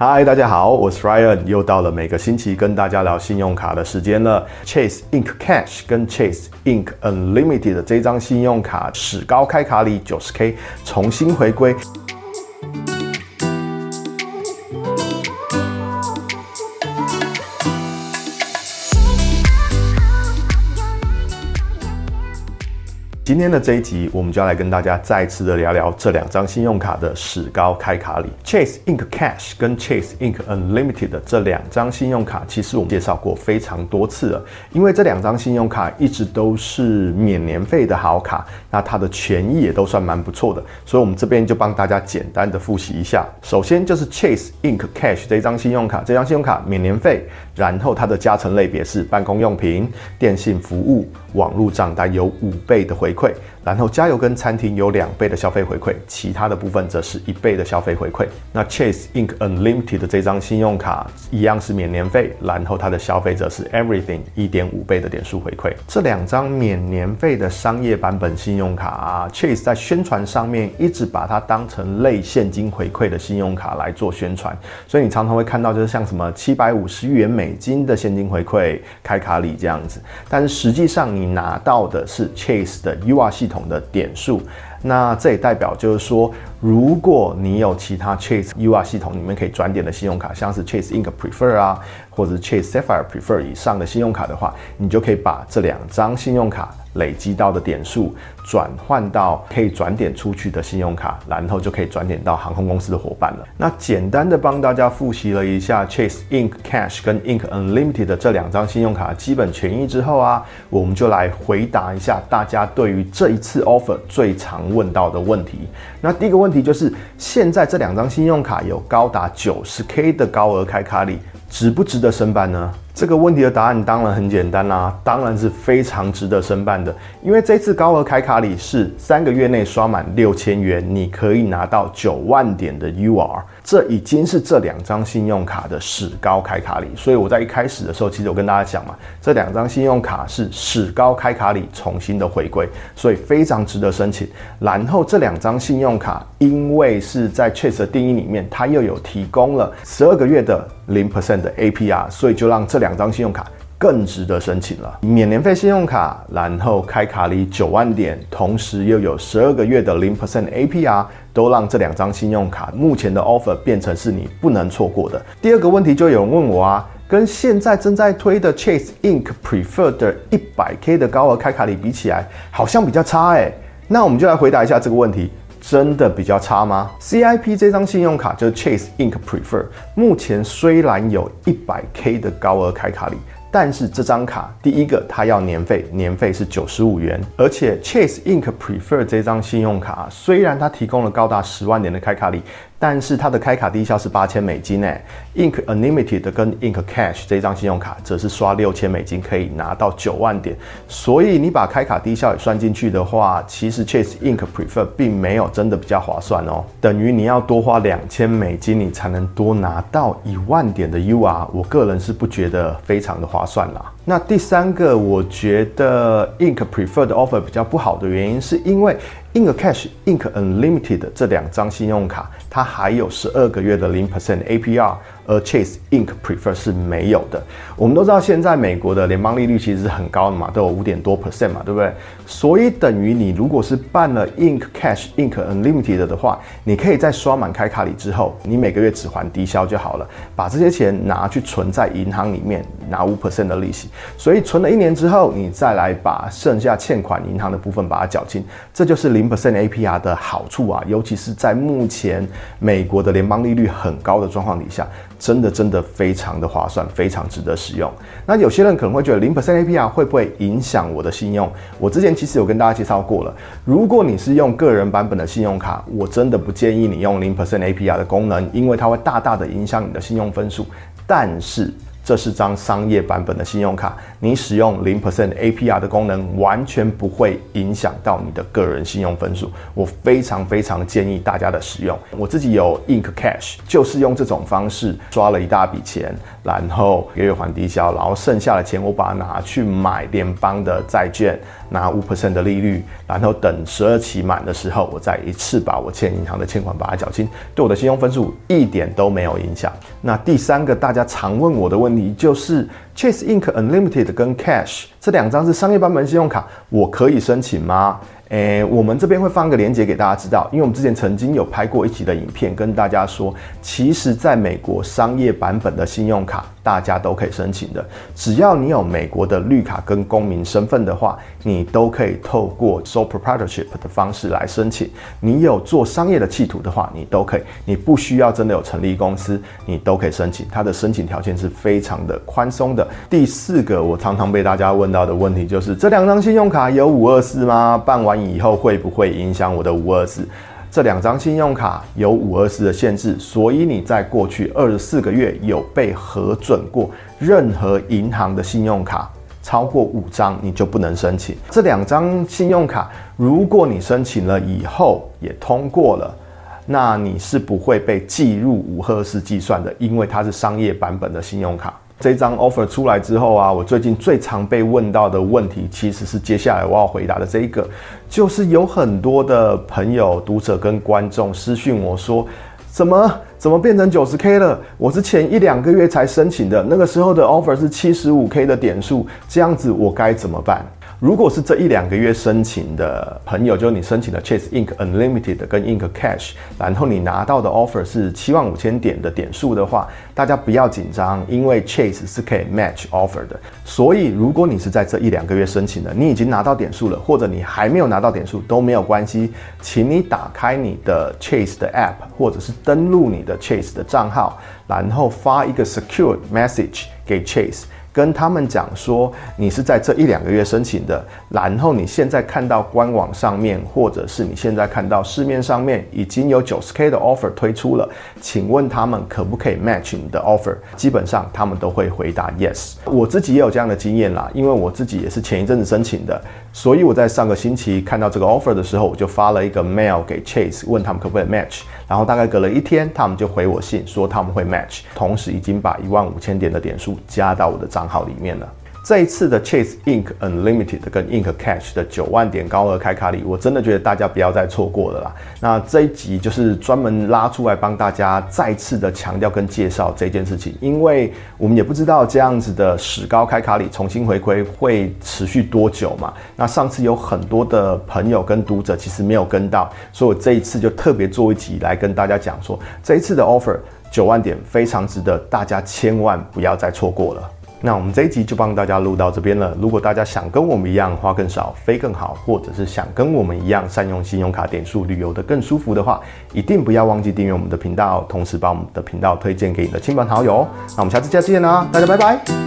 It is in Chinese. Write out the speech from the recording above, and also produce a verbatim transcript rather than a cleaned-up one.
嗨，大家好，我是 Ryan， 又到了每個星期跟大家聊信用卡的時間了。Chase Ink Cash 跟 Chase Ink Unlimited 的這張信用卡史高開卡禮 九十K 重新回歸。今天的這一集，我們就要來跟大家再次的聊聊這兩張信用卡的史高開卡禮。Chase Ink Cash 跟 Chase Ink Unlimited 的這兩張信用卡，其實我們介紹過非常多次了。因為這兩張信用卡一直都是免年費的好卡，那它的權益也都算蠻不錯的，所以我們這邊就幫大家簡單的複習一下。首先就是 Chase Ink Cash 這張信用卡，這張信用卡免年費，然後它的加成類別是辦公用品、電信服務、網絡賬單有五倍的回饋。然後加油跟餐廳有兩倍的消費回饋，其他的部分則是一倍的消費回饋。那 Chase Ink Unlimited 的這張信用卡一樣是免年費，然後它的消費則是 Everything 一點五倍的點數回饋。這兩張免年費的商業版本信用卡啊 ，Chase 在宣傳上面一直把它當成類現金回饋的信用卡來做宣傳，所以你常常會看到就是像什麼七百五十元美金的現金回饋開卡禮這樣子，但是實際上你拿到的是 Chase 的 U R 系統的點數，那這也代表就是說，如果你有其他 Chase U R 系統裡面可以轉點的信用卡，像是 Chase Ink Prefer 啊，或者是 Chase Sapphire Prefer 以上的信用卡的話，你就可以把這兩張信用卡累積到的點數轉換到可以轉點出去的信用卡，然後就可以轉點到航空公司的夥伴了。那簡單的幫大家複習了一下 Chase Ink Cash 跟 Ink Unlimited 的這兩張信用卡基本權益之後啊，我們就來回答一下大家對於這一次 offer 最常問到的問題。那第一個問題就是，現在這兩張信用卡有高達 九十K 的高額開卡禮，值不值得申辦呢？這個問題的答案當然很簡單啦、啊，當然是非常值得申辦的。因為這次高額開卡禮是三個月內刷滿六千元，你可以拿到九萬點的 U R， 這已經是這兩張信用卡的史高開卡禮。所以我在一開始的時候，其實我跟大家講嘛，這兩張信用卡是史高開卡禮重新的回歸，所以非常值得申請。然後這兩張信用卡，因為是在 Chase 的定義裡面，它又有提供了十二個月的零 percent 的 A P R， 所以就讓這兩張信用卡更值得申請了。免年費信用卡，然後開卡禮九萬點，同時又有十二個月的零 percent A P R， 都讓這兩張信用卡目前的 offer 變成是你不能錯過的。第二個問題就有人問我啊，跟現在正在推的 Chase Ink Prefer 的 一百K 的高額開卡禮比起來，好像比較差哎、欸。那我們就來回答一下這個問題。真的比較差嗎 ？C I P 這張信用卡就是 Chase Ink Prefer， 目前雖然有 一百K 的高額開卡禮，但是這張卡第一個它要年費，年費是九十五元，而且 Chase Ink Prefer 這張信用卡雖然它提供了高達十萬點的開卡禮，但是它的開卡低消是八千美金誒 ，Ink Unlimited 跟 Ink Cash 這張信用卡則是刷六千美金可以拿到九萬點，所以你把開卡低消也算進去的話，其實 Chase Ink Prefer 並沒有真的比較划算哦，等於你要多花兩千美金，你才能多拿到一萬點的 U R， 我個人是不覺得非常的划算啦。那第三個，我覺得 Ink Prefer 的 offer 比較不好的原因，是因為 Ink Cash、Ink Unlimited 這兩張信用卡，它還有十二個月的零 percent A P R， 而 Chase Ink Prefer 是沒有的。我們都知道現在美國的聯邦利率其實是很高的嘛，都有五點多 percent 嘛，對不對？所以等於你如果是辦了 Ink Cash、Ink Unlimited 的話，你可以在刷滿開卡禮之後，你每個月只還低消就好了，把這些錢拿去存在銀行裡面，拿五 percent 的利息。所以存了一年之後，你再來把剩下欠款銀行的部分把它繳清，這就是零 percent A P R 的好處啊！尤其是在目前美國的聯邦利率很高的狀況底下，真的真的非常的划算，非常值得使用。那有些人可能會覺得零 percent A P R 會不會影響我的信用？我之前其實有跟大家介紹過了，如果你是用個人版本的信用卡，我真的不建議你用零 percent A P R 的功能，因為它會大大的影響你的信用分數。但是這是張商業版本的信用卡，你使用零 percent A P R 的功能，完全不會影響到你的個人信用分數。我非常非常建議大家的使用。我自己有 Ink Cash， 就是用這種方式刷了一大筆錢，然後月月還低消，然後剩下的錢我把它拿去買聯邦的債券，拿五 percent 的利率，然後等十二期滿的時候，我再一次把我欠銀行的欠款把它繳清，對我的信用分數一點都沒有影響。那第三個大家常問我的問題就是 Chase Ink Unlimited 跟 Cash 這兩張是商業版本信用卡，我可以申請嗎？誒，我們這邊會放一個連結給大家知道，因為我們之前曾經有拍過一集的影片，跟大家說，其實在美國商業版本的信用卡，大家都可以申請的。只要你有美國的綠卡跟公民身份的話，你都可以透過 sole proprietorship 的方式來申請。你有做商業的企圖的話，你都可以，你不需要真的有成立公司，你都可以申請。它的申請條件是非常的寬鬆的。第四個，我常常被大家問到的問題就是，這兩張信用卡有五二四嗎？辦完以後會不會影響我的五二四？這兩張信用卡有五二四的限制，所以你在過去二十四個月有被核准過任何銀行的信用卡超過五張，你就不能申請。這兩張信用卡，如果你申請了以後也通過了，那你是不會被計入五二四計算的，因為它是商業版本的信用卡。這張 offer 出來之後啊，我最近最常被問到的問題，其實是接下來我要回答的這一個，就是有很多的朋友、讀者跟觀眾私訊我說，怎麼怎麼變成 九十K 了？我是前一兩個月才申請的，那個時候的 offer 是 七十五K 的點數，這樣子我該怎麼辦？如果是這一兩個月申請的朋友，就是你申請的 Chase Ink Unlimited 跟 Ink Cash， 然後你拿到的 offer 是七萬五千點的點數的話，大家不要緊張，因為 Chase 是可以 match offer 的。所以如果你是在這一兩個月申請的，你已經拿到點數了，或者你還沒有拿到點數都沒有關係，請你打開你的 Chase 的 app， 或者是登錄你的 Chase 的賬號，然後發一個 secure message 給 Chase。跟他們講說，你是在這一兩個月申請的，然後你現在看到官網上面，或者是你現在看到市面上面已經有 九十K 的 offer 推出了，請問他們可不可以 match 你的 offer？ 基本上他們都會回答 yes。我自己也有這樣的經驗啦，因為我自己也是前一陣子申請的，所以我在上個星期看到這個 offer 的時候，我就發了一個 mail 給 Chase， 問他們可不可以 match， 然後大概隔了一天，他們就回我信說他們會 match， 同時已經把一萬五千點的點數加到我的賬號裡面了。這一次的 Chase Ink Unlimited 跟 Ink Cash 的九萬點高額開卡禮，我真的覺得大家不要再錯過了啦。那這一集就是專門拉出來幫大家再次的強調跟介紹這件事情，因為我們也不知道這樣子的史高開卡禮重新回歸會持續多久嘛。那上次有很多的朋友跟讀者其實沒有跟到，所以我這一次就特別做一集來跟大家講說，這一次的 offer 九萬點非常值得，大家千萬不要再錯過了。那我們這一集就幫大家錄到這邊了。如果大家想跟我們一樣花更少飛更好，或者是想跟我們一樣善用信用卡點數旅遊得更舒服的話，一定不要忘記訂閱我們的頻道，同時把我們的頻道推薦給你的親朋好友。那我們下次再見啦，大家拜拜。